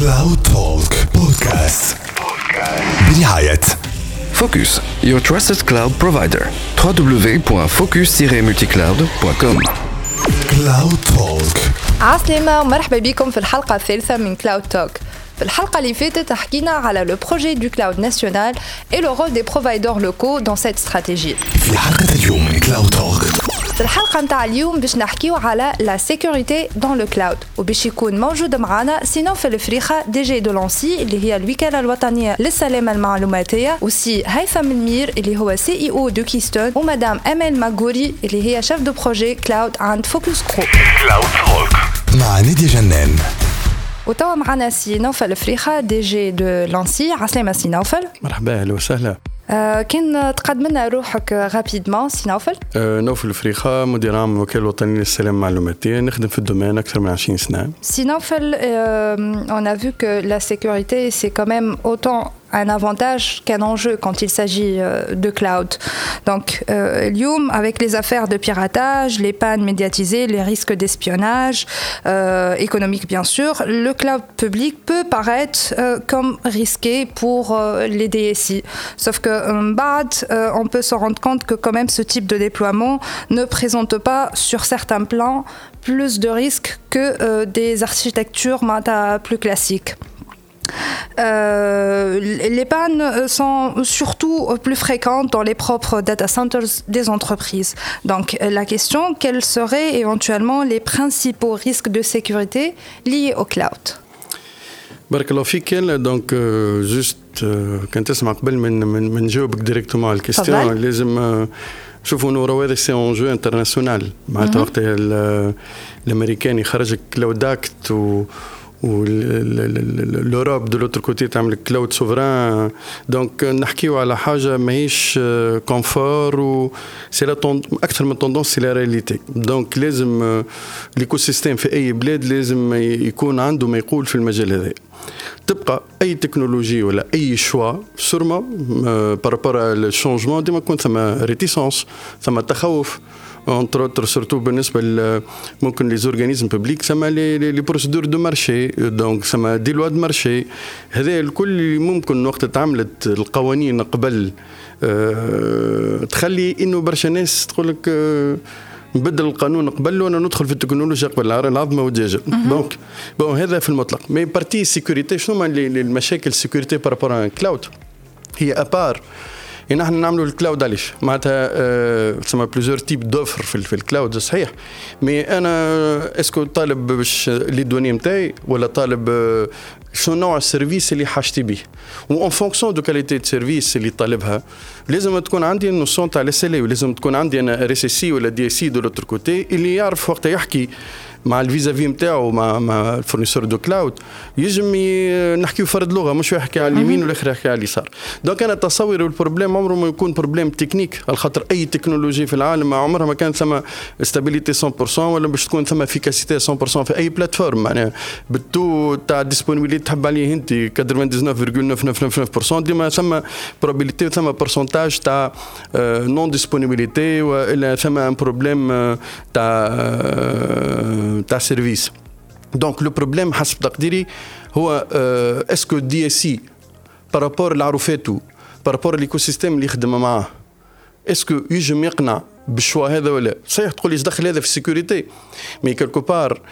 Cloud Talk Podcast برعاية Focus, your trusted cloud provider. www.focus-multicloud.com. Cloud Talk. عسلامة ومرحبا بكم في الحلقة الثالثة من كلاود توك. في الحلقة اللي فاتت حكينا على le projet du cloud national et le rôle des providers locaux dans cette stratégie. في حلقة اليوم من كلاود توك. في الحلقة متاع اليوم باش نحكيو على la sécurité dans le cloud وباش يكون موجود معنا سينوف الفريخة دي جي دو لانسي اللي هي الوكالة الوطنية للسلامة المعلوماتية وسي هيثم المير اللي هو سي اي او دو كيستون ومدام امال ماغوري اللي هي شيف دو بروجي كلاود عند فوكس جروب. كلاود توك مع نادية جنان. وتوا معنا سي نوفل فريخة دي جي دو لانسي. عسلامة سي نوفل. مرحبا اهلا وسهلا. كان تقدم لنا روحك رابيدمون سي نوفل؟ نوفل فريخة مدير عام الوكالة الوطنية للسلامة المعلوماتية، نخدم في الدومين أكثر من 20 سنة. سي نوفل on a vu que la sécurité c'est quand même autant un avantage qu'un enjeu quand il s'agit de cloud. Donc, اليوم avec les affaires de piratage, les pannes médiatisées, les risques d'espionnage, économique bien sûr, le cloud public peut paraître comme risqué pour les DSI. Sauf que on peut se rendre compte que quand même ce type de déploiement ne présente pas sur certains plans plus de risques que des architectures plus classiques. Les pannes sont surtout plus fréquentes dans les propres data centers des entreprises. Donc la question, quels seraient éventuellement les principaux risques de sécurité liés au cloud? بارك الله فيك. دونك جوست كنت تسمع قبل من نجاوبك ديريكتومون على الكيستيون لازم شوفوا نورو هذا سي اون جو انترناسيونال معناتها وقت الامريكان يخرج كلاود اكت والأوروب دو لوتر كوتي تعمل كلاود سوفران. دونك نحكيو على حاجة ماهيش كونفور و سي أكثر من توندونس سي لا رياليتي. دونك لازم ليكو سيستيم في أي بلاد لازم يكون عنده ما يقول في المجال هذا. تبقى أي تكنولوجي ولا أي شوا سورما بارابور الشونجمون ديما يكون ثم ريتيسونس ثم تخوف entre autres surtout بالنسبة ممكن les organismes publics سما les procédures de marché donc سما des lois de marché. هذا الكل ممكن وقت تعملت القوانين قبل تخلي إنه برشا ناس تقولك نبدل القانون قبل وانا ندخل في التكنولوجيا قبل العظمه والدجاجه. دونك هذا في المطلق. مي بارتي سيكوريتي شنو المشاكل سيكوريتي بارابور كلاود هي ابار نحن نعملوا الكلاود علاش معناتها تسمى بليزيور تيب دوفر في الكلاود صحيح. مي انا اسكو طالب باش لي دوني نتاعي ولا طالب شنو نوع السيرفيس اللي حاجتي به و ان فونكسيون دو كاليتي دو سيرفيس اللي طالبها لازم تكون عندي النوسيون تاع الاس ال اي ولازم تكون عندي انا ار اس سي ولا دي اس سي دو لوتر كوتي اللي يعرف وقت يحكي مع الفيزافي نتاعو مع الفورنيسور دو كلاود يجم نحكيو فرد لغه مش يحكي على اليمين والاخر يحكي على اليسار. دونك انا تصوري البروبليم عمره ما يكون بروبليم تكنيك على خاطر اي تكنولوجي في العالم عمرها ما كانت ثم استابيليتي 100% ولا باش تكون ثم افيكاسيتي 100% في اي بلاتفورم. معناها بالتو تاع ديسبونيبيليتي تحب عليه انت 99.999% ديما ثم بروبابيليتي ثم برسنتاج تاع نون ديسبونيبيليتي والا ثم ان بروبليم تاع سيرفيس. دونك لو بروبليم حسب تقديري هو اسكو دي اس سي بارابور لعروفاتو بارابور ليكو سيستيم اللي يخدم معاه اسكو يجم يقنع بالشوا هذا ولا صحيح. تقول لي دخل هذا في السيكوريتي مي كالكو بار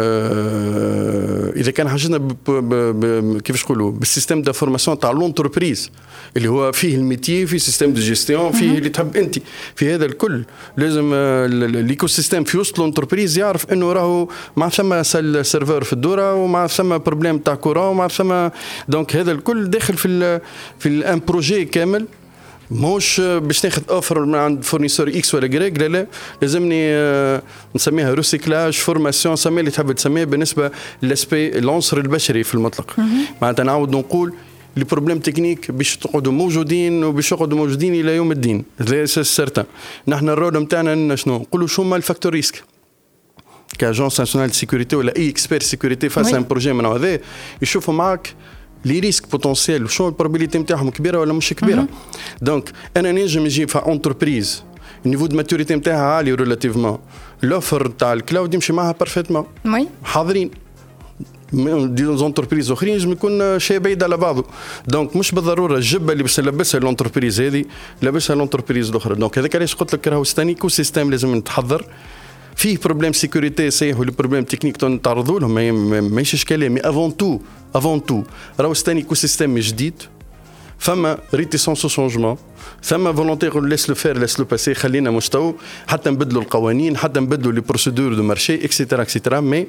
اذا كان حاجتنا كيفاش نقولوا بالسيستم دو فورماسيون تاع لونتربريز اللي هو فيه الميتي فيه سيستم دو جيستيون فيه اللي تحب انت في هذا الكل لازم الايكو سيستم في وسط لونتربريز يعرف انه راهو مع ثم سيرفر في الدوره ومع ثم بروبليم تاع كورون ومع ثم. دونك هذا الكل داخل في الان بروجي كامل موش باش ناخذ اوفر من عند فورنيسور اكس ولا جريك. لا لازمني نسميها ريسيكلاج فورماسيون سمي اللي تحب تسميه بالنسبه للاسبي العنصر البشري في المطلق. معناتها نعاود نقول لي بروبليم تكنيك باش تقعدوا موجودين وباش يقعدوا موجودين الى يوم الدين. هذا سيرتان. نحن الرول نتاعنا شنو نقولوا شو ما الفاكتور ريسك كاجونس ناسيونال دو سيكوريتي ولا اي اكسبير سيكوريتي فاس ان بروجي من هذا يشوفوا معك لي ريسك بوتنسيال شنو البروبابيليتي نتاعهم كبيره ولا مش كبيره. دونك انا نجم نجيب في انتربريز النيفو دو ماتوريتي نتاعها عالي ريلاتيفمون، لوفر تاع الكلاود يمشي معها بارفيتمون. وي حاضرين دي زونتربريز اخرين يجم يكون شيء بعيد على بعضه. دونك مش بالضروره الجبه اللي باش نلبسها لونتربريز هذه لابسها لونتربريز الاخرى. دونك هذاك علاش قلت لك راهو ستاني كو سيستم لازم نتحضر فيه. بروبليم سيكوريتي صحيح ولا بروبليم تكنيك نتعرضوا لهم ماهيش اشكاليه، مي افون تو راهو ستاني ايكو سيستم جديد، فما ريتيسونس شونجمون، ثم فولونتي يقول ليس لو فير ليس لو باسي، خلينا مشتو حتى نبدلوا القوانين حتى نبدلوا لي بروسيدور دو مارشي اكسيتيرا اكسيتيرا. مي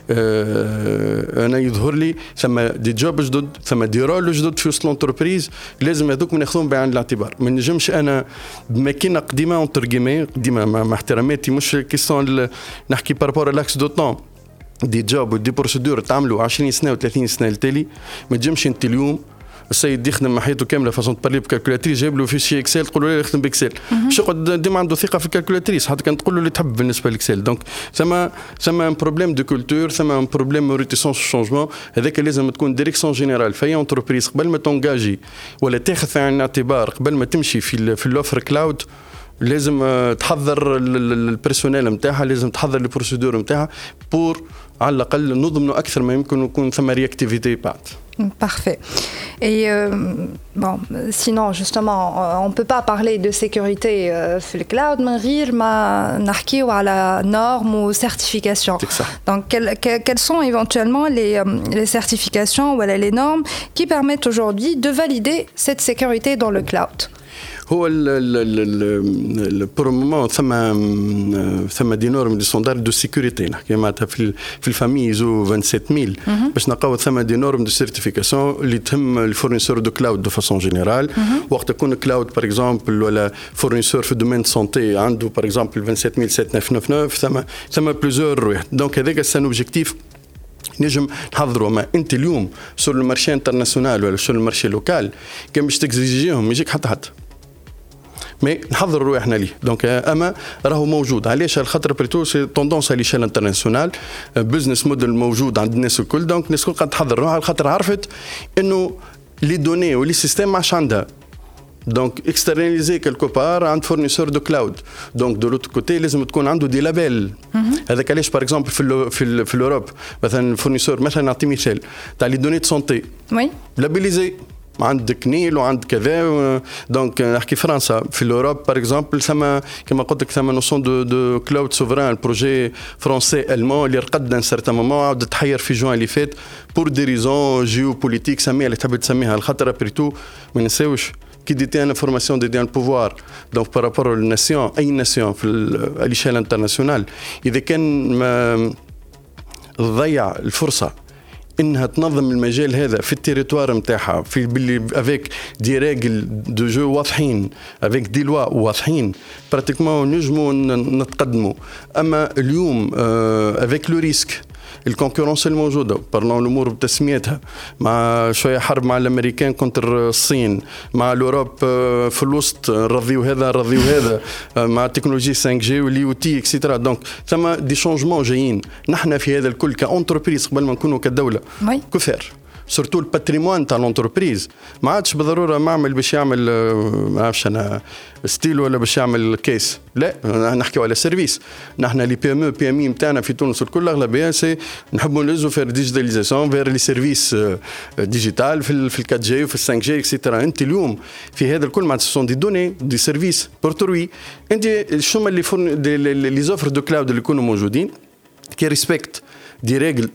انا يظهر لي ثم دي جوب جدد، ثم دي رول جدد في وسط لونتربريز، لازم هذوك ناخذهم بعين الاعتبار. ما نجمش انا بماكينه قديمه اونتر كيمي قديمه مع احتراماتي، مش كيسون نحكي بارابور لاكس دو طون، دي جوب ودي بروسيدور تعملوا 20 سنه و30 سنه التالي. ما تجمش انت اليوم السيد يخدم حياته كامله فاصون تبارلي بكالكولاتريس، جايب له فيشي اكسل تقول له يخدم باكسل، باش يقعد ديما عنده ثقه في الكالكولاتريس حتى كان تقول له اللي تحب بالنسبه للاكسل. دونك ثم ان بروبليم دو كولتور، ثم ان بروبليم ريتيسونس شونجمون. هذاك لازم تكون ديريكسيون جينيرال في انتربريز قبل ما تونجاجي ولا تاخذ في عين الاعتبار قبل ما تمشي في الاوفر كلاود. لازم تحضر البيرسونيل نتاعها، لازم تحضر البروسيدور نتاعها بور على الأقل نضمنوا أكثر ما يمكن يكون ثم رياكتيفيتي بعد. Parfait. Et bon, sinon, justement, on ne peut pas parler de sécurité sur le cloud, mais on va la normes ou certifications. Donc, quelles sont éventuellement les certifications ou les normes qui permettent aujourd'hui de valider cette sécurité dans le cloud? هو البرومومون ثم دي نورم دي ستاندار دو سيكوريتي نحكي معناتها في الفامي زو 27000 باش نلقاو ثم دي نورم دو سيرتيفيكاسيون اللي تهم الفورنيسور دو كلاود دو فاسون جينيرال. وقت يكون كلاود باغ اكزومبل ولا فورنيسور في دومين سونتي عنده باغ اكزومبل 27799 ثم بليزيور واحد. دونك هذاك سان اوبجيكتيف نجم نحضروا. ما انت اليوم سور المارشي انترناسيونال ولا سور المارشي لوكال كان باش تكزيجيهم يجيك حتى مي نحضر روحنا ليه. دونك اما راهو موجود. علاش؟ على خاطر بريتو سي توندونس على ليشيل انترناسيونال، بزنس موديل موجود عند الناس الكل. دونك الناس الكل قاعده تحضر روحها على خاطر عرفت انه لي دوني ولي سيستيم ما عادش عندها. دونك اكسترناليزي كالكو بار عند فورنيسور دو كلاود. دونك دو لوتر كوتي لازم تكون عنده دي لابيل. هذاك علاش باغ اكزومبل في الاوروب مثلا فورنيسور مثلا نعطي مثال تاع لي دوني دو سونتي وي لابيليزي عندك نيل وعند كذا. دونك نحكي فرنسا في الاوروب باغ اكزومبل ثم كما قلت لك ثم نوسون دو كلاود سوفران البروجي فرونسي المون اللي رقد ان سارتان مومون عاود تحير في جوان اللي فات بور دي ريزون جيو بوليتيك سميها اللي تحب تسميها. الخطر بريتو ما نساوش كي ديتي ان انفورماسيون ديتي ان بوفوار. دونك بارابور للناسيون اي ناسيون في الاشيال انترناسيونال اذا كان ما تضيع الفرصه انها تنظم المجال هذا في التيريتوار نتاعها في باللي افيك دي ريغل دو جو واضحين افيك دي لوا واضحين براتيكمون نجموا نتقدموا. اما اليوم افيك لو ريسك الكونكورونس الموجوده بارلون الامور بتسميتها مع شويه حرب مع الامريكان كونتر الصين مع الاوروب في الوسط نرضيو هذا مع تكنولوجي 5G واليو تي اكسيترا. دونك ثم دي شونجمون جايين. نحن في هذا الكل كأنتربريز قبل ما نكونوا كدوله كفار سورتو الباتريمون تاع لونتربريز ما عادش بالضروره معمل باش يعمل ما عرفش انا ستيل ولا باش يعمل كيس. لا نحكيو على سيرفيس. نحن لي بي ام او بي ام اي نتاعنا في تونس الكل اغلبيه سي نحبوا نلزوا في ديجيتاليزاسيون فير لي سيرفيس ديجيتال في ال 4 جي وفي ال 5 جي اكسيتيرا. انت اليوم في هذا الكل معناتها سون دي دوني دي سيرفيس بورتروي. انت شنو اللي لي زوفر دو كلاود اللي يكونوا موجودين كي ريسبكت دي ريغل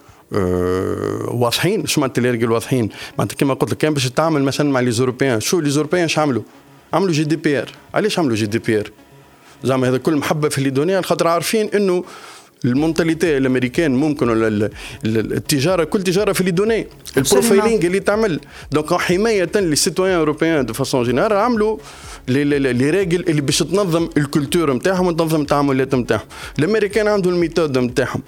واضحين. شو معناتها اللي واضحين؟ معناتها كما قلت لك كان باش تعمل مثلا مع لي زوروبيان. شو لي زوروبيان اش عملوا جي دي بي ار. علاش عملوا جي دي بي ار؟ زعما هذا كل محبه في لي دوني خاطر عارفين انه المونتاليتي الامريكان ممكن ولا التجاره كل تجاره في لي دوني البروفايلينغ اللي تعمل. دونك حمايه للسيتويان اوروبيان دو فاسون جينيرال عملوا لي ريغل اللي باش تنظم الكولتور نتاعهم وتنظم التعاملات نتاعهم. الامريكان عندهم الميثود نتاعهم.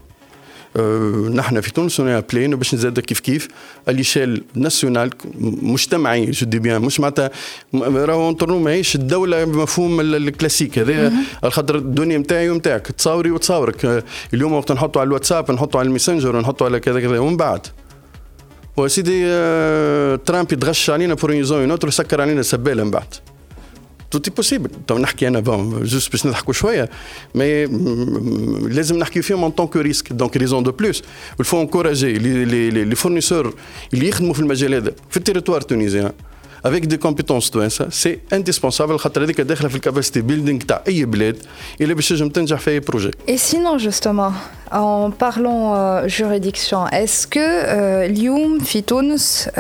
نحن في تونس ابلين باش نزاد كيف اليشيل ناسيونال مجتمعي جو دي بيان مش معناتها راهو نطرنو ماهيش الدوله بمفهوم الكلاسيك هذا الخاطر الدنيا نتاعي ونتاعك تصاوري وتصاورك. اليوم وقت نحطوا على الواتساب نحطوا على الميسنجر ونحطوا على كذا ومن بعد وسيدي ترامب يتغش علينا بور يزون نوتر سكر علينا سباله من بعد توتي بوسيبل. تو نحكي انا بون جوست باش نضحكوا شويه مي لازم نحكي فيهم ان طونك ريسك. دونك ريزون دو بلوس الفو انكوراجي لي فورنيسور اللي يخدموا في المجال هذا في التيريتوار التونسي avec des compétences توانسه سي indispensable خاطر هذيك داخله في الكاباسيتي بيلدينغ تاع اي بلاد اللي باش تنجم تنجح في اي بروجي. Et sinon justement en parlant juridiction est-ce que اليوم في تونس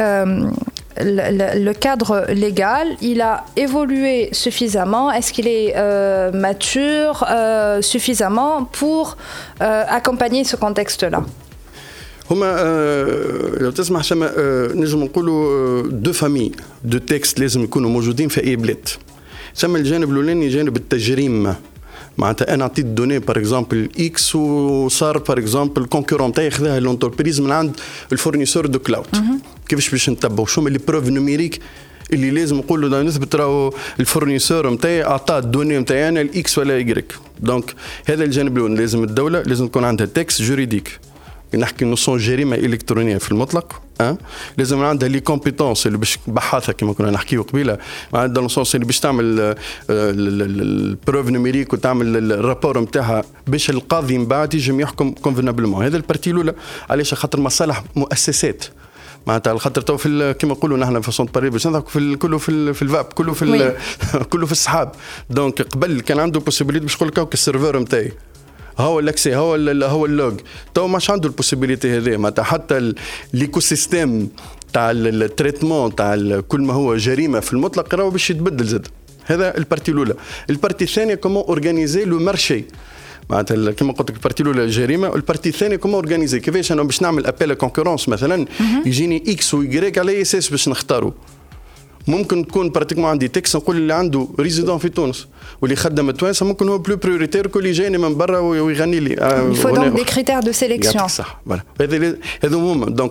le cadre légal, il a évolué suffisamment. Est-ce qu'il est mature suffisamment pour accompagner ce contexte-là? هما لو تسمح شما نجم نقولوا دو فامي دو تكست لازم يكونوا موجودين في اي بلاد. شما الجانب الاولاني جانب التجريم معناتها انا عطيت دوني بار اكزومبل اكس وصار بار اكزومبل كونكورون تاعي خذاها لونتربريز من عند الفورنيسور دو كلاود. كيفاش باش نتبعوا شو هما لي بروف نوميريك اللي لازم نقولوا له نثبت راهو الفورنيسور نتاعي اعطى الدوني نتاعي انا الاكس ولا ايغريك. دونك هذا الجانب الاول لازم الدوله لازم تكون عندها تكست جوريديك. نحكي نصون جريمه الكترونيه في المطلق لازم عندها لي كومبيتونس اللي باش بحاثه كما كنا نحكيو قبيله عندها نصوص اللي باش تعمل البروف نوميريك وتعمل الرابور نتاعها باش القاضي من بعد يجي يحكم كونفينابلمون. هذا البارتي الاولى علاش خاطر مصالح مؤسسات معناتها الخطر تو في كما نقولوا نحن في صوت باري باش نضحكوا في كله في الفاب كله في كله في السحاب. دونك قبل كان عنده بوسيبيليتي باش يقول لك السيرفر نتاعي هو الاكسي هو اللوج تو ماش عنده البوسيبيليتي هذه معناتها حتى ليكو سيستيم تاع التريتمون تاع كل ما هو جريمه في المطلق راهو باش يتبدل زاد. هذا البارتي الاولى. البارتي الثانيه كومون اورغانيزي لو مارشي معناتها كما قلت لك البارتي الاولى الجريمه والبارتي الثانيه كومون اورغانيزي كيفاش انا باش نعمل ابيل كونكورونس مثلا يجيني اكس ويغريك على اساس باش نختاروا. ممكن تكون براتيكمون عندي تكست نقول اللي عنده ريزيدون في تونس واللي خدم توانسه ممكن هو بلو بريوريتير كل اللي جايني من برا ويغني لي. Il faut donc des critères de sélection. صح فوالا هذا مهم. دونك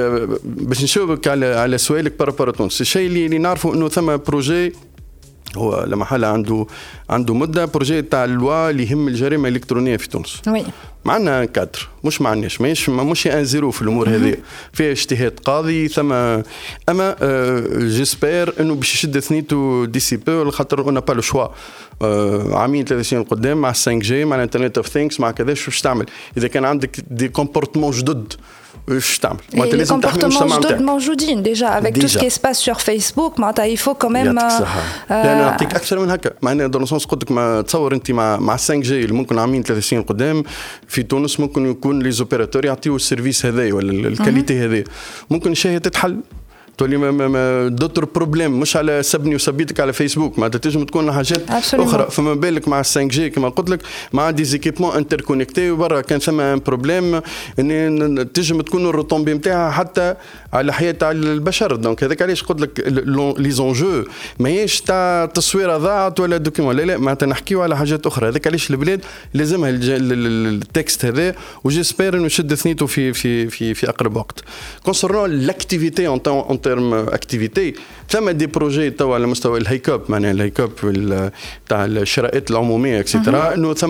باش نشوفك على سؤالك بارابور تونس الشيء اللي نعرفه انه ثم بروجي هو لما حال عنده مده بروجي تاع اللوا اللي يهم الجريمه الالكترونيه في تونس. وي معنا كادر مش معناش مش ان زيرو في الامور هذه فيها اجتهاد قاضي ثم اما جيسبر انه باش يشد ثنيتو دي سي بو خاطر اون با لو شوا عامين 3 سنين قدام مع 5 جي مع الانترنت اوف ثينكس مع كذا شو باش تعمل اذا كان عندك دي كومبورتمون جدد واش تعمل. وانت لازم تحمي المجتمع نتاعك موجودين ديجا avec tout ce qui se passe sur Facebook معناتها il faut quand même يعني نعطيك اكثر من هكا معناها دون سونس قلت لك ما تصور انت مع 5 جي اللي ممكن عامين 3 سنين قدام في تونس ممكن يكون لي زوبيراتور يعطيو السيرفيس هذا ولا الكاليتي هذه ممكن الشيء تتحل تولي ما دوتر بروبليم مش على سبني وسبيتك على فيسبوك ما تنجم تكون حاجات اخرى. فما بالك مع 5 جي كما قلت لك مع دي زيكيبمون انتر كونيكتي وبرا كان ثم ان بروبليم ان تنجم تكون الروتومبي نتاعها حتى على حياه تاع البشر. دونك هذاك علاش قلت لك لي زونجو ماهيش تاع تصويره ضاعت ولا دوكيمون لا معناتها نحكيو على حاجات اخرى. هذاك علاش البلاد لازمها التكست هذا وجيسبر انه يشد ثنيته في اقرب وقت. كونسيرنون لاكتيفيتي اون تيرم اكتيفيتي ثم دي بروجي توا على مستوى الهيكوب معناها الهيكوب تاع الشرائط العموميه اكسترا انه ثم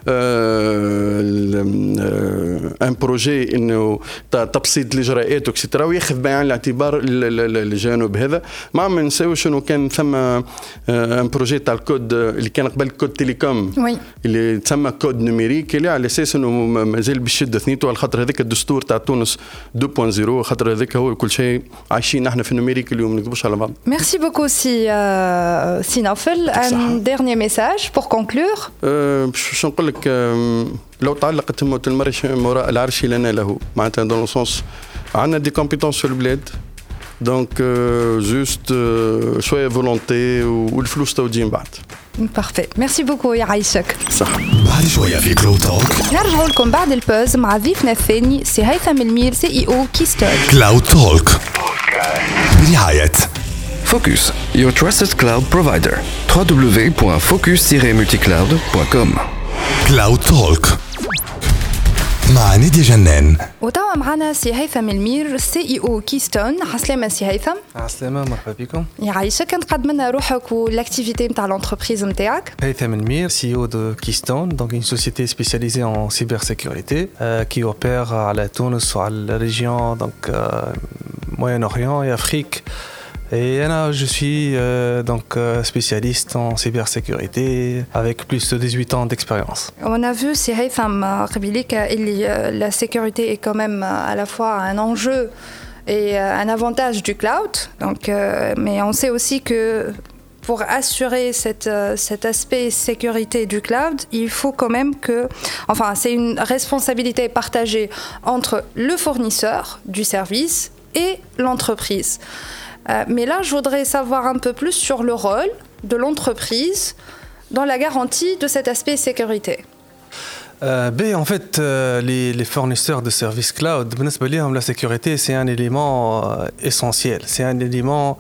ان بروجي انه تبسيط الاجراءات اكسترا وياخذ بعين الاعتبار الجانب هذا. ما نساوش انه كان ثم ان بروجي تاع الكود اللي كان قبل كود تيليكوم اللي تسمى كود نوميريك اللي على اساس انه مازال بيشد ثنيته على خاطر هذاك الدستور تاع تونس 2.0 خاطر هذاك هو كل شيء عايشين نحن في النوميريك اليوم ما نكذبوش على بعض. Merci beaucoup si Naufel. Un dernier message pour conclure. باش نقول لك لو تعلقت موت المرش وراء العرش لنا له معناتها دون سونس عندنا دي كومبيتونس في البلاد دونك جوست شويه فولونتي والفلوس توجين بعد. بارفي ميرسي بوكو يعيشك. صح. بعد شويه في كلاود توك نرجعوا لكم بعد البوز مع ضيفنا الثاني سي هيثم المير CEO كيستون. كلاود توك برعاية Focus, your trusted cloud provider. www.focus-multicloud.com. كلاود توك مع نادية جنان. وتوا معنا سي هيثم المير CEO كيستون. عسلامة سي هيثم. عسلامة مرحبا بكم. يعيشك نتقدم لنا روحك والاكتيفيتي نتاع l'entreprise نتاعك. هيثم المير CEO de Keystone, donc une société spécialisée en cybersécurité qui opère على تونس وعلى la région donc Moyen-Orient et Afrique Et je suis spécialiste en cybersécurité avec plus de 18 ans d'expérience. On a vu, c'est la sécurité est quand même à la fois un enjeu et un avantage du cloud. Donc, mais on sait aussi que pour assurer cet aspect sécurité du cloud, il faut quand même c'est une responsabilité partagée entre le fournisseur du service et l'entreprise. Mais là, je voudrais savoir un peu plus sur le rôle de l'entreprise dans la garantie de cet aspect sécurité. En fait, les fournisseurs de services cloud, la sécurité, c'est un élément essentiel. C'est un élément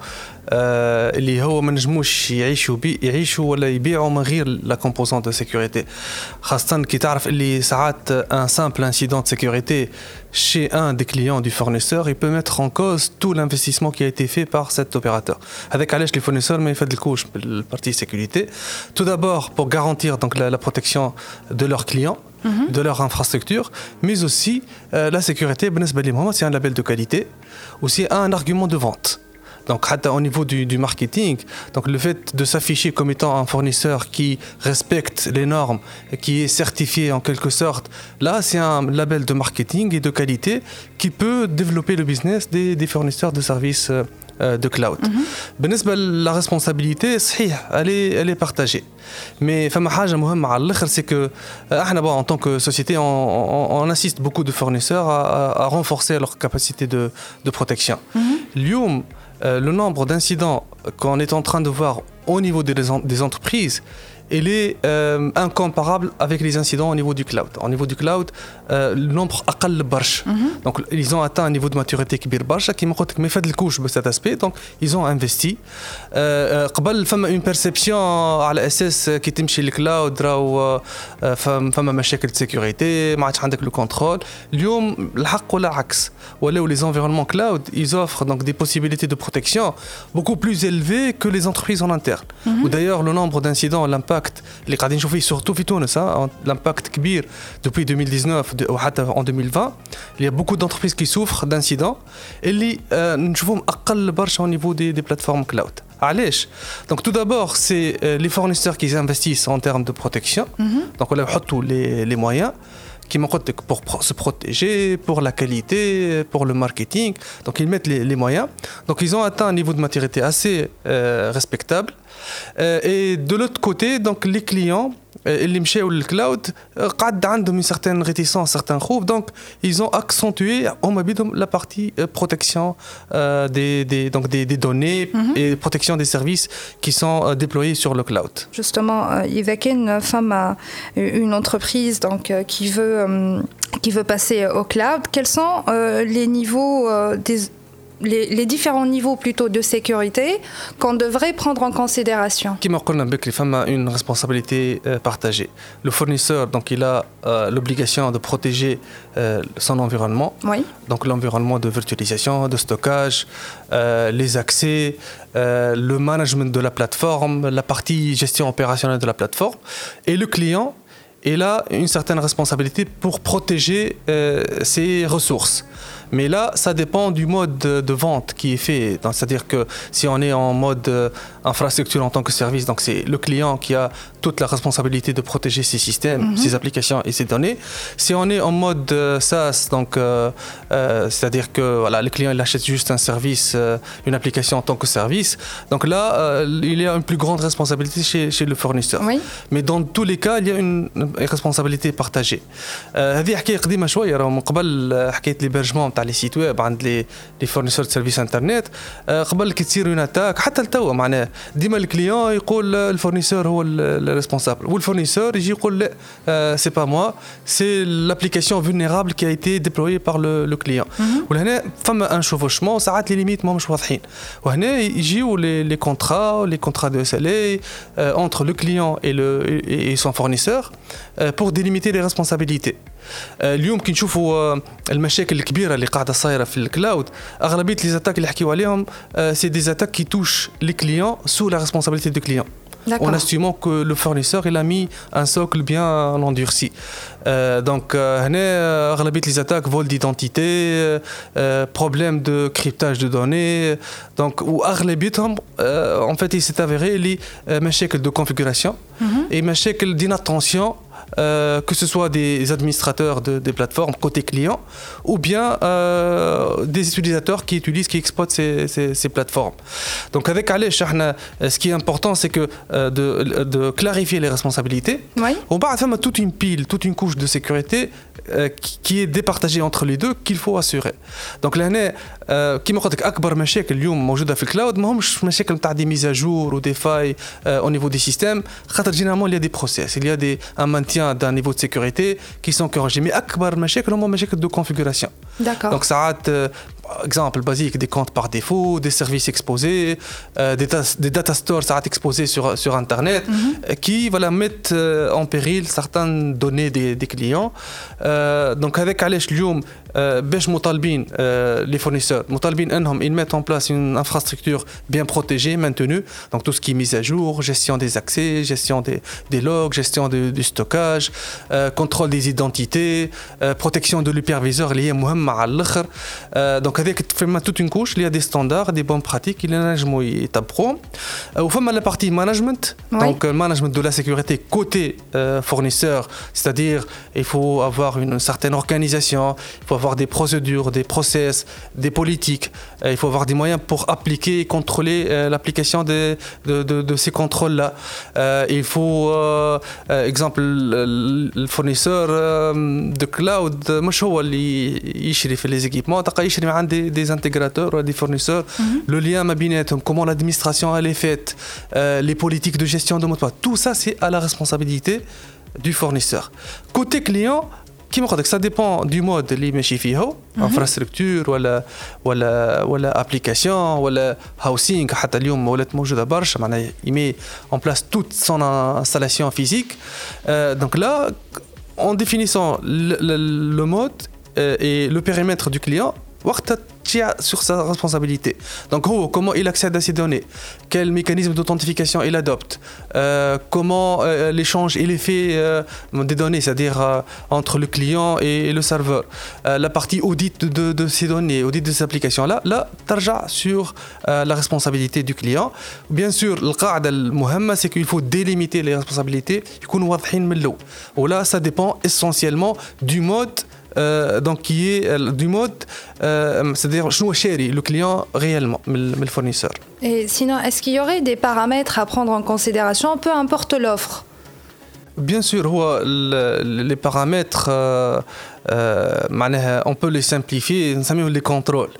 اللي هو ما نجموش يعيشوا ولا يبيعوا من غير لا كومبوزونت دو سيكوريتي خاصة كي تعرف اللي ساعات ان سامبل انسيدون de sécurité chez un des clients du fournisseur il peut mettre en cause tout l'investissement qui a été fait par cet opérateur. Avec علاش les fournisseurs ما يفدلكوش بالpartie sécurité. Tout d'abord pour garantir donc la protection de leurs clients, de leur infrastructure, mais aussi la sécurité c'est un label de qualité, aussi un argument de vente. Donc au niveau du marketing, donc le fait de s'afficher comme étant un fournisseur qui respecte les normes, qui est certifié en quelque sorte, là c'est un label de marketing et de qualité qui peut développer le business des fournisseurs de services de cloud. بالنسبة la responsabilité, elle est partagée. Mais فما حاجة مهمة على الآخر c'est que احنا en tant que société on assiste beaucoup de fournisseurs à renforcer leur capacité de protection. اليوم le nombre d'incidents qu'on est en train de voir au niveau des entreprises, il est incomparable avec les incidents au niveau du cloud. Au niveau du cloud, le nombre أقل برشا. Donc ils ont atteint un niveau de maturité كبير برشا كيما قلت لك ما يفدلكوش بهذا aspect. Donc ils ont investi. قبل فما une perception على أساس كي تمشي للكلاود راهو فما مشاكل de sécurité ما عادش عندك le contrôle. اليوم الحق ولا العكس. ولاو les environnements cloud ils offrent donc des possibilités de protection beaucoup plus élevées que les entreprises en interne. Ou d'ailleurs le nombre d'incidents, l'impact اللي قاعدين نشوفيه surtout في تونس l'impact كبير depuis 2019 وحتى en 2020 il y a beaucoup d'entreprises qui souffrent d'incidents اللي نشوفهم أقل برشا au niveau des plateformes cloud. علاش؟ Donc tout d'abord c'est les fournisseurs qui investissent en termes de protection. Donc on leur يحطوا les moyens qui pour se protéger, pour la qualité, pour le marketing. Donc ils mettent les moyens. Donc ils ont atteint un niveau de maturité assez respectable. Et de l'autre côté, donc les clients, اللي مشاو للكلاود قعد عندهم une certaine réticence, certains خوف. Donc ils ont accentué la partie protection des données et protection des services qui sont déployés sur le cloud. Justement, إذا كان فما une entreprise donc qui veut passer au cloud, quels sont les niveaux les différents niveaux plutôt de sécurité qu'on devrait prendre en considération. Comme on l'a dit, il y a une responsabilité partagée. Le fournisseur, donc, il a l'obligation de protéger son environnement. Oui. Donc l'environnement de virtualisation, de stockage, les accès, le management de la plateforme, la partie gestion opérationnelle de la plateforme. Et le client, il a une certaine responsabilité pour protéger ses ressources. Mais là, ça dépend du mode de vente qui est fait. C'est-à-dire que si on est en mode infrastructure en tant que service, donc c'est le client qui a toute la responsabilité de protéger ses systèmes, ses applications et ses données. Si on est en mode SaaS, donc c'est-à-dire que voilà, le client il achète juste un service, une application en tant que service. Donc là, il y a une plus grande responsabilité chez le fournisseur. Oui. Mais dans tous les cas, il y a une responsabilité partagée. هذه حكاية قديمة شوية من قبل حكاية l'hébergement تاع لي سيت ويب عند لي فورنيسور سيرفيس انترنت. قبل كي تصير اون اتاك حتى لتوا معناه ديما الكليون يقول الفورنيسور هو الريسبونسابل والفورنيسور يجي يقول لا سي با موا سي لابليكاسيون فولنيرابل كي ا ايتي ديبلويي بار لو كليون. ولهنا فما ان شوفوشمون ساعات لي ليميت ماهمش واضحين وهنا يجيو لي كونترا دو اس ال اي entre le client et son fournisseur pour délimiter les responsabilités. اليوم كي نشوفوا المشاكل الكبيره اللي قاعده صايره في الكلاود اغلبيه لي زاتاك اللي حكيوا عليهم سي دي زاتاك كي توش لي كليون سو لا ريسبونسابيلتي دو كليون. en estimant que le fournisseur il a mis un socle bien endurci. Donc, les attaques, vol d'identité, problème de cryptage de données. Donc, en fait, il s'est avéré les machines de configuration et machines d'inattention. Que ce soit des administrateurs des plateformes côté client ou bien des utilisateurs qui exploitent ces plateformes. Donc avec Alech, ce qui est important, c'est que de clarifier les responsabilités. Oui. On va faire toute une couche de sécurité qui est départagée entre les deux qu'il faut assurer. Donc là, كما قلت لك أكبر مشاكل اليوم موجودة في الكلاود ما همش مشاكل نتاع دي ميزاجور ودي فاي au niveau des systèmes. خاطر généralement il y a des process, il y a un maintien d'un niveau de sécurité qui sont corrigés. Mais أكبر مشاكل هما مشاكل de configuration. D'accord. Donc ساعات exemple basique, des comptes par défaut, des services exposés, des data stores exposés sur Internet qui mettent en péril certaines données des clients. Donc avec Alech اليوم باش مطالبين les fournisseurs مطالبين انهم ils mettent en place une infrastructure bien protégée, maintenue, donc tout ce qui est mise à jour, gestion des accès, gestion des logs, gestion du stockage, contrôle des identités, protection de l'hyperviseur lié مهم على الاخر. Donc avec toute une couche, il y a des standards, des bonnes pratiques, il y a des étapes. Au fond, la partie management, donc management de la sécurité côté fournisseur, c'est-à-dire il faut avoir une certaine organisation, il faut avoir des procédures, des process, des politiques, il faut avoir des moyens pour appliquer et contrôler l'application de ces contrôles-là. Il faut, exemple, le fournisseur de cloud, مش هو اللي يشري في les équipements, يشري عن des intégrateurs, des fournisseurs, le lien ma بيناتهم, comment l'administration elle est faite, les politiques de gestion de mot de passe, tout ça c'est à la responsabilité du fournisseur. Côté client, ça dépend du mode اللي ماشي فيه, infrastructure ولا application ولا housing. حتى اليوم ولات موجودة برشا, معناها il met en place toute son installation physique. Donc là, en définissant le mode et le périmètre du client, sur sa responsabilité. Donc, comment il accède à ces données, quel mécanisme d'authentification il adopte, comment l'échange il est fait des données, c'est-à-dire entre le client et le serveur, la partie audit de ces données, audit de ces applications-là, tarja sur la responsabilité du client. Bien sûr, القاعدة المهمة c'est qu'il faut délimiter les responsabilités, يكونوا واضحين من الأول. Là, ça dépend essentiellement du mode. Donc qui est du mode, c'est-à-dire شنو شاري le client réellement من le fournisseur. Et sinon, est-ce qu'il y aurait des paramètres à prendre en considération, peu importe l'offre? Bien sûr, les paramètres, on peut les simplifier, les contrôles.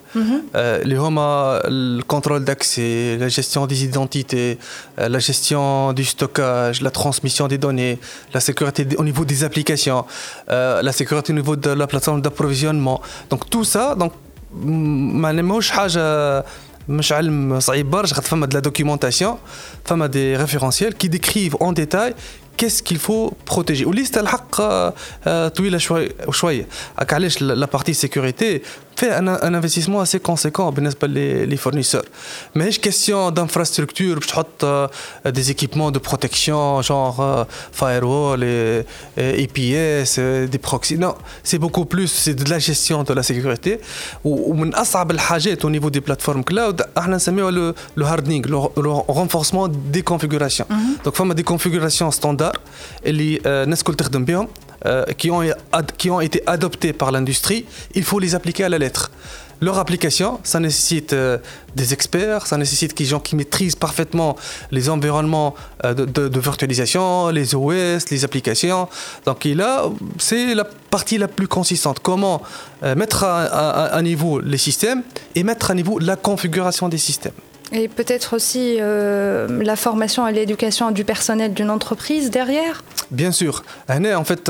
Le contrôle d'accès, la gestion des identités, la gestion du stockage, la transmission des données, la sécurité au niveau des applications, la sécurité au niveau de la plateforme d'approvisionnement. Donc tout ça, donc, مش علم صعيب برشا, فما de la documentation, فما des référentiels qui décrivent en détail qu'est-ce qu'il faut protéger. وليست الحق طويلة شوية. علاش la partie sécurité fait un investissement assez conséquent بالنسبة les fournisseurs. Mais هيش question d'infrastructure باش تحط des équipements de protection genre firewall et EPS, des proxys. Non, c'est beaucoup plus, c'est de la gestion de la sécurité. ومن أصعب الحاجات au niveau des plateformes cloud احنا نسميوها le hardening, le renforcement des configurations. Donc فما des configurations standards اللي الناس الكل تخدم بهم, qui ont été adoptés par l'industrie, il faut les appliquer à la lettre. Leur application, ça nécessite des experts, ça nécessite des gens qui maîtrisent parfaitement les environnements de virtualisation, les OS, les applications. Donc là, c'est la partie la plus consistante. Comment mettre à niveau les systèmes et mettre à niveau la configuration des systèmes. Et peut-être aussi la formation et l'éducation du personnel d'une entreprise derrière. Bien sûr. En fait,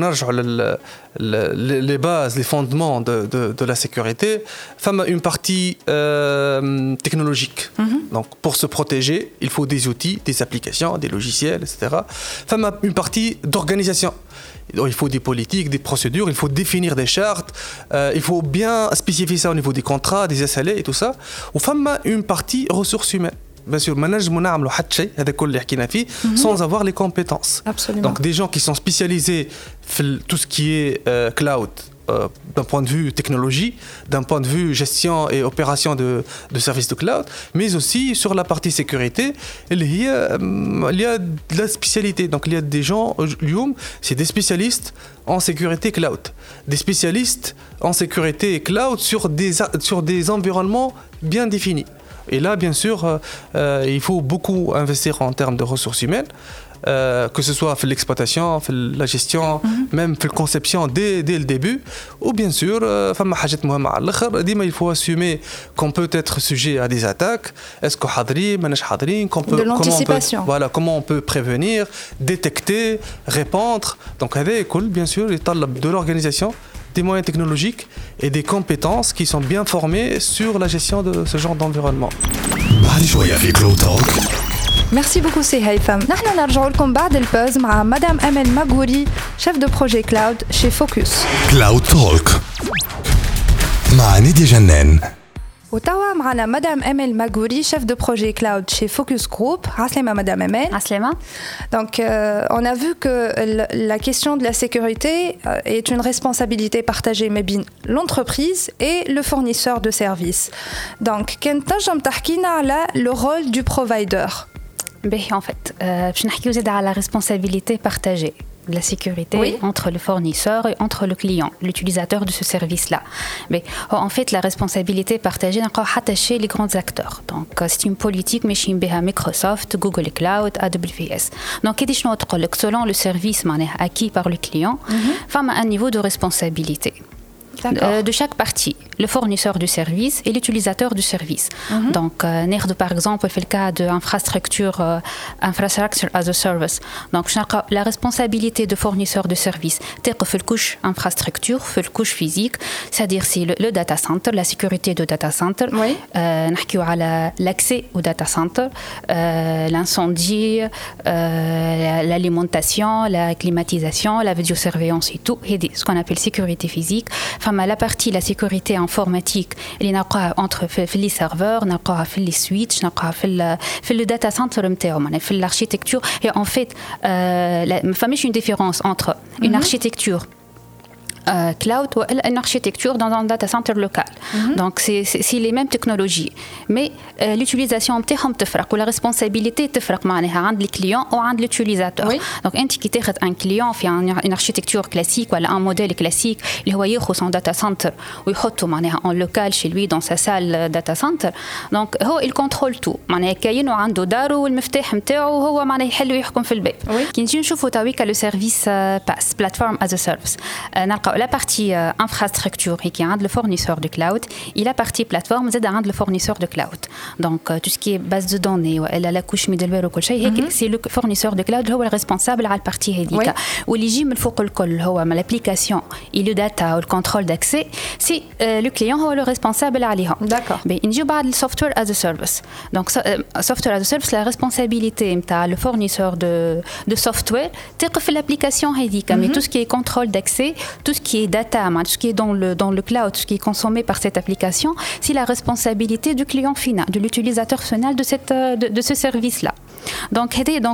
les bases, les fondements de la sécurité, une partie technologique. Donc, pour se protéger, il faut des outils, des applications, des logiciels, etc. Une partie d'organisation. Il faut des politiques, des procédures, il faut définir des chartes, il faut bien spécifier ça au niveau des contrats, des SLA et tout ça. Ou une partie ressources humaines. bien sûr ما نجموا نعملوا حتى شيء هذا كل اللي حكينا فيه sans avoir les compétences. Absolument. Donc des gens qui sont spécialisés dans tout ce qui est cloud d'un point de vue technologie, d'un point de vue gestion et opération de services de cloud, mais aussi sur la partie sécurité, il y a de la spécialité. Donc il y a des gens, c'est des spécialistes en sécurité cloud, des spécialistes en sécurité cloud sur des environnements bien définis. Et là, bien sûr, il faut beaucoup investir en termes de ressources humaines. Que ce soit في l'exploitation, في la gestion, même في la conception dès le début, ou bien sûr, فما حاجات مهمة على الآخر. ديما il faut assumer qu'on peut être sujet à des attaques. Est-ce qu'on حاضرين ماناش حاضرين? De l'anticipation. Voilà, comment on peut prévenir, détecter, répondre. Donc هذا الكل bien sûr يتطلب de l'organisation, des moyens technologiques et des compétences qui sont bien formées sur la gestion de ce genre d'environnement. بعد شوية في كلود توك. Merci beaucoup سي هيثم. نحن نرجع لكم بعد البوز مع مدام أمل ماغوري شيف دو بروجي كلاود chez فوكس. كلاود توك مع نيديا جنان. وتوا معنا مدام أمل ماغوري chef de projet cloud chez Focus Group. Aslema madame Amel. Aslema. Donc on a vu que la question de la sécurité est une responsabilité partagée mais bien l'entreprise et le fournisseur de services. Donc كان تنجم تحكينا على le rôle du provider. En fait, je n'ai pas la responsabilité partagée de la sécurité entre le fournisseur et entre le client, l'utilisateur de ce service-là. Mais en fait, la responsabilité partagée n'est pas attachée les grands acteurs. Donc, c'est une politique, mais chez Microsoft, Google Cloud, AWS. Donc, selon le service acquis par le client, il y a un niveau de responsabilité. De chaque partie, le fournisseur du service et l'utilisateur du service. Donc, par exemple, le cas de infrastructure as a service. Donc, la responsabilité de fournisseur de service, c'est la couche infrastructure, la couche physique, c'est-à-dire c'est le data center, la sécurité du data center, l'accès au data center, l'incendie, l'alimentation, la climatisation, la vidéosurveillance et tout, et ce qu'on appelle sécurité physique. La partie la sécurité informatique اللي نلقاها entre في les serveurs نلقاها في les switch نلقاها في le data center نتاعو في l'architecture et en fait ما فماش une différence entre une architecture cloud ou une architecture dans un data center local. Donc c'est les mêmes technologies mais l'utilisation نتاعهم تفرق ولا responsabilité تفرق معناها عند les clients ou عند l'utilisateur. Donc انت كي تاخذ un client في une architecture classique ولا un modèle classique اللي هو ياخذ son data center ويحطه معناها en local chez lui dans sa salle data center. Donc هو il contrôle tout معناها كاين وعنده داره والمفتاح نتاعو وهو معناها يحل ويحكم في البيت. كي نجي نشوفوا تويكا le service PaaS platform as a service نلقاو la partie infrastructure qui est le fournisseur de cloud et la partie plateforme c'est le fournisseur de cloud. Donc tout ce qui est base de données ou la couche middleware ou كل شيء c'est le fournisseur de cloud هو responsable على الpartie هذيك واللي يجي من فوق الكل هو l'application et le data ou le contrôle d'accès c'est le client هو le responsable عليهم. D'accord. Mais نجيو بعد le software as a service. Donc software as a service la responsabilité نتاع le fournisseur de software تقف l'application هذيك mais tout ce qui est contrôle d'accès, tout ce qui est data, tout ce qui est dans le cloud, ce qui est consommé par cette application, c'est la responsabilité du client final, de l'utilisateur final de ce service-là. Donc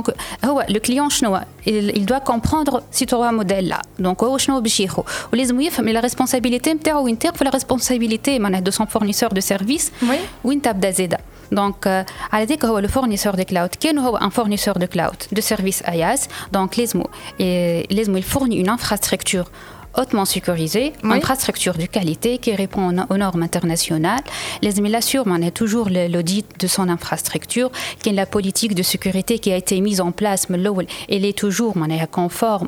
le client il doit comprendre ce modèle-là. Donc ولازم يفهم la responsabilité نتاعو وين تقف la responsabilité de son fournisseur de service وين تبدا زاده. Donc على ذلك هو le fournisseur de cloud كان هو un fournisseur de cloud de service IaaS. Donc لازم il fournit une infrastructure hautement sécurisée, infrastructure de qualité qui répond aux normes internationales. Il assure toujours l'audit de son infrastructure, qui est la politique de sécurité qui a été mise en place, mais elle est toujours conforme.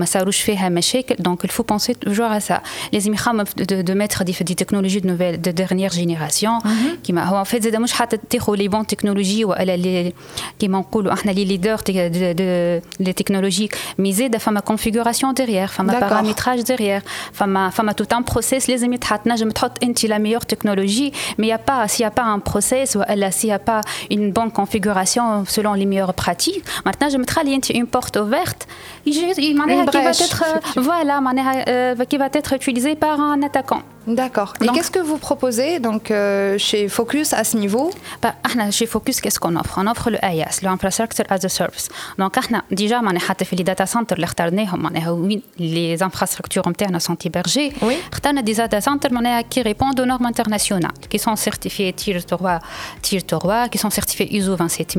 Donc il faut penser toujours à ça. De mettre des technologies de dernière génération, qui en fait les bonnes technologies ou qui les leaders des technologies, mais ma configuration derrière, ma paramétrage derrière, femme tout un process les amis تنجم تحط انت la meilleure technologie mais s'il y a pas un process ou s'il y a pas une bonne configuration selon les meilleures pratiques maintenant je mettrai une porte ouverte qui va être utilisée par un attaquant. D'accord. Et qu'est-ce que vous proposez donc chez Focus à ce niveau? Chez Focus, qu'est-ce qu'on offre? On offre le IaaS, le Infrastructure as a Service. Donc, déjà, les data centers, les infrastructures internes sont hébergées. Oui. On a des data centers qui répondent aux normes internationales, qui sont certifiés Tier 3, qui sont certifiés ISO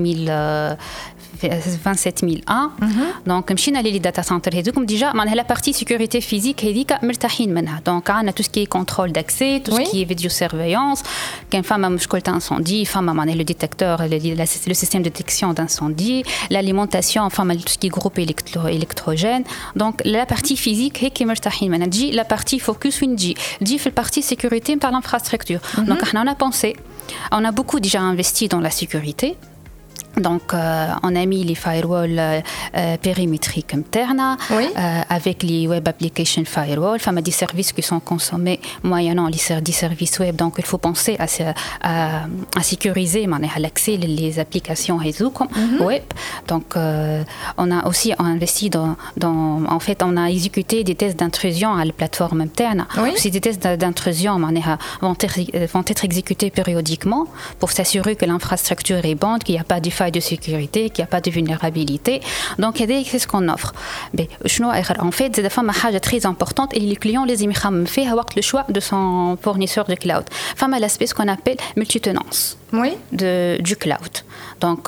27001. Donc, les data centers, déjà, la partie sécurité physique, donc, on a tout ce qui est contrôle d'accès, tout ce qui est vidéosurveillance, quand femme a mouchkolt incendie, femme a le détecteur, le système de détection d'incendie, l'alimentation, femme a tout ce qui est groupe électrogène. Donc la partie physique est la partie focus dit fait partie sécurité par l'infrastructure. Donc on a pensé, on a beaucoup déjà investi dans la sécurité. Donc, on a mis les firewalls périmétriques internes avec les web application firewall. Enfin, des services qui sont consommés moyennant les services web. Donc, il faut penser à sécuriser l'accès les applications web. Donc, on a aussi investi en fait, on a exécuté des tests d'intrusion à la plateforme interne. Ces tests d'intrusion vont être exécutés périodiquement pour s'assurer que l'infrastructure est bonne, qu'il n'y a pas de faille de sécurité, qu'il n'y a pas de vulnérabilité. Donc, c'est ce qu'on offre. En fait, c'est une chose très importante et les clients les aiment faire le choix de son fournisseur de cloud. Femme à l'aspect ce qu'on appelle multitenance du cloud. Donc,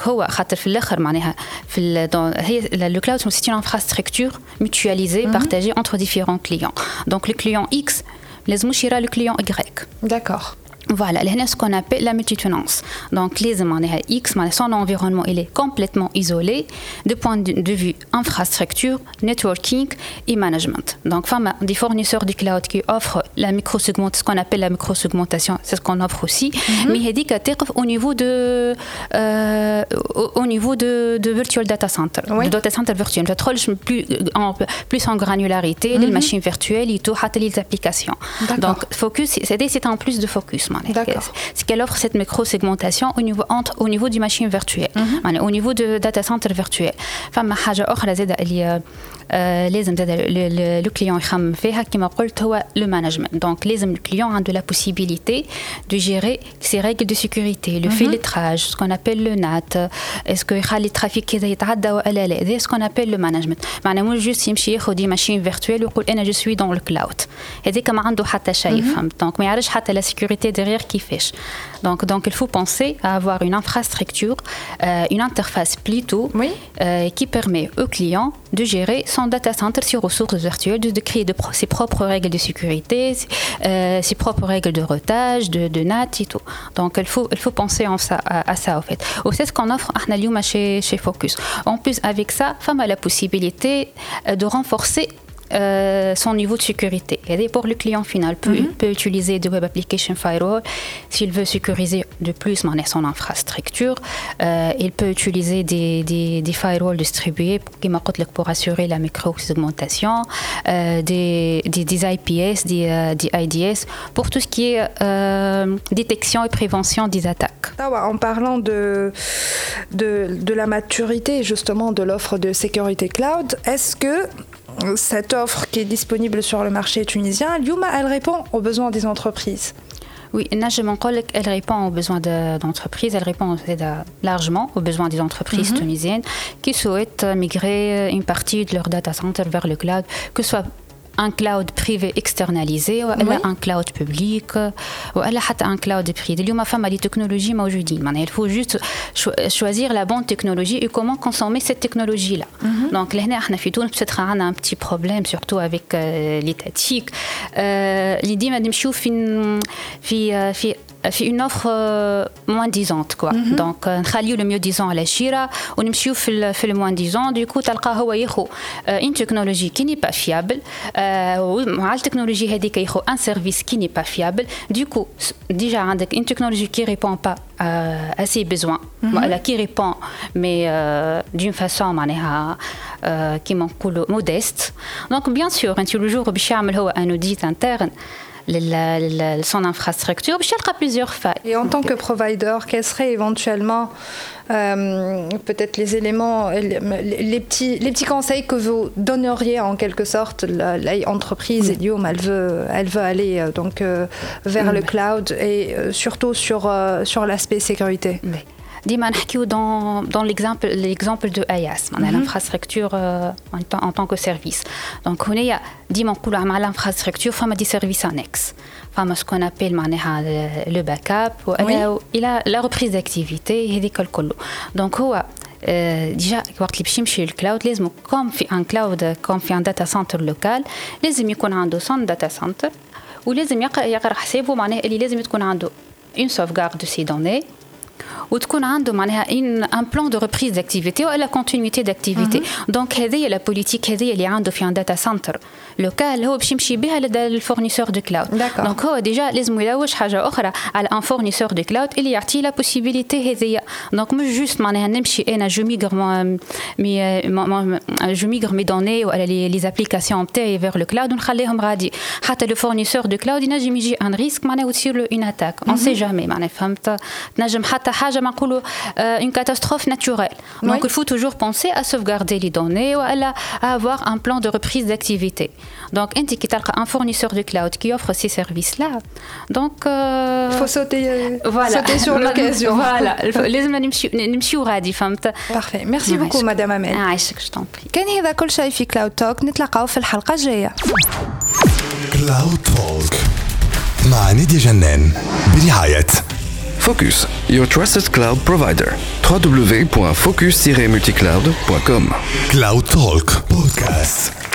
le cloud, c'est une infrastructure mutualisée, partagée entre différents clients. Donc, le client X, les mouchira le client Y. D'accord. Voilà, c'est ce qu'on appelle la multitenance. Donc, son environnement il est complètement isolé de point de vue infrastructure, networking et management. Donc, des fournisseurs du cloud qui offrent ce qu'on appelle la microsegmentation, c'est ce qu'on offre aussi. Mais au niveau de virtual data center, de data center virtuel, plus en granularité, les machines virtuelles et tout, les applications. Donc, Focus, c'est en plus de Focus. C'est qu'elle offre cette micro-segmentation au niveau du machine virtuelle, au niveau de data center virtuel. فما حاجة أخرى زادة اللي لازم le client يخمم فيها كما قلت هو le management. Donc لازم le client a de la possibilité de gérer ses règles de sécurité, le filtrage, ce qu'on appelle le NAT, est-ce que يخلي الترافيك كذا يتعدى ولا لا, c'est ce qu'on appelle le management. معناه مش juste يمشي ياخذ دي machine virtuelle ويقول أنا je suis dans le cloud. هذيك ما عنده حتى شيء فهمت. Donc ما يعرفش حتى la sécurité derrière qui fait. Donc il faut penser à avoir une infrastructure, une interface plutôt qui permet au client de gérer son data center, ses ressources virtuelles, de créer ses propres règles de sécurité, ses propres règles de routage, de NAT et tout. Donc il faut penser à ça en fait. C'est ce qu'on offre chez Focus. En plus avec ça, femme a la possibilité de renforcer son niveau de sécurité. Et pour le client final, peut utiliser des web application firewall. S'il veut sécuriser de plus son infrastructure, il peut utiliser des firewalls distribués pour assurer la micro-segmentation, des IPS, des IDS, pour tout ce qui est détection et prévention des attaques. En parlant de la maturité justement de l'offre de sécurité cloud, est-ce que cette offre qui est disponible sur le marché tunisien, Lyouma, elle répond aux besoins des entreprises? Oui, elle répond aux besoins d'entreprises, elle répond largement aux besoins des entreprises tunisiennes qui souhaitent migrer une partie de leur data center vers le cloud, que ce soit un cloud privé externalisé ou un cloud public ou un cloud privé. اليوم فما des technologies موجودين. Il faut juste choisir la bonne technologie et comment consommer cette technologie là. Donc لهنا احنا في تونس peut-être عندنا un petit problème surtout avec l'étatique. اللي ديما نمشيو في une offre moins disante quoi. Donc نخليو le mieux disant على الشيرة ونمشيو في le moins disant. Du coup تلقاه هو ياخو une technologie qui n'est pas fiable. ومع التكنولوجيا هذيك ياخو un service qui n'est pas fiable. Du coup déjà عندك une technologie qui répond pas à ses besoins. Qui répond mais d'une façon معناها كيما نقولوا modeste. Donc bien sûr انت le jour باش يعمل هو un audit interne son infrastructure باش يلقى plusieurs failles. Et en tant que provider, quels seraient éventuellement peut-être les éléments, les petits conseils que vous donneriez en quelque sorte l'entreprise Helium, elle veut aller donc vers le cloud et surtout sur l'aspect sécurité. ديما نحكيو dans l'exemple de IaaS, l'infrastructure en tant que service. Donc هنايا ديما نقولوا مع l'infrastructure فما دي services annexes. فما ce qu'on appelle معناها le backup وإلى la reprise d'activité هذيك الكل. Donc هو ديجا وقت اللي باش يمشي للكلاود لازم كوم في ان كلاود كوم في ان داتا سنتر لوكال لازم يكون عنده سون داتا سنتر ولازم يقرا حسابه معناها اللي لازم تكون عنده une sauvegarde de ces données وتكون عنده معناها un plan de reprise d'activité ou la continuité d'activité. Donc هذه la politique هذه اللي عنده في un data center local هو باش يمشي بها للفورنيسور دو كلاود. Donc هو ديجا لازم يلوج حاجه اخرى على un fournisseur de cloud اللي يعطيه la possibilité هذه. Donc مش juste معناها نمشي انا جو ميغر مي دوني ولا les applications نتاعي vers le cloud ونخليهم غادي حتى le fournisseur de cloud ينجم يجي un risque معناها وتصير له une attaque. On sait jamais معناها فهمت تنجم حتى حاجه ما نقولوا une catastrophe naturelle. Donc il faut toujours penser à sauvegarder les données ou à avoir un plan de reprise d'activité. Donc انت كي تلقى un fournisseur de cloud qui offre ces services là donc il faut sauter sur l'occasion. Voilà لازم نمشيو غادي فهمت. Parfait. Merci beaucoup madame Amel. عايشك je t'en prie. كان هذا كل شيء في كلاود توك نتلاقاو في الحلقه الجايه. كلاود توك مع نيديا جنان برعاية Focus, your trusted cloud provider. www.focus-multicloud.com. Cloud Talk Podcast.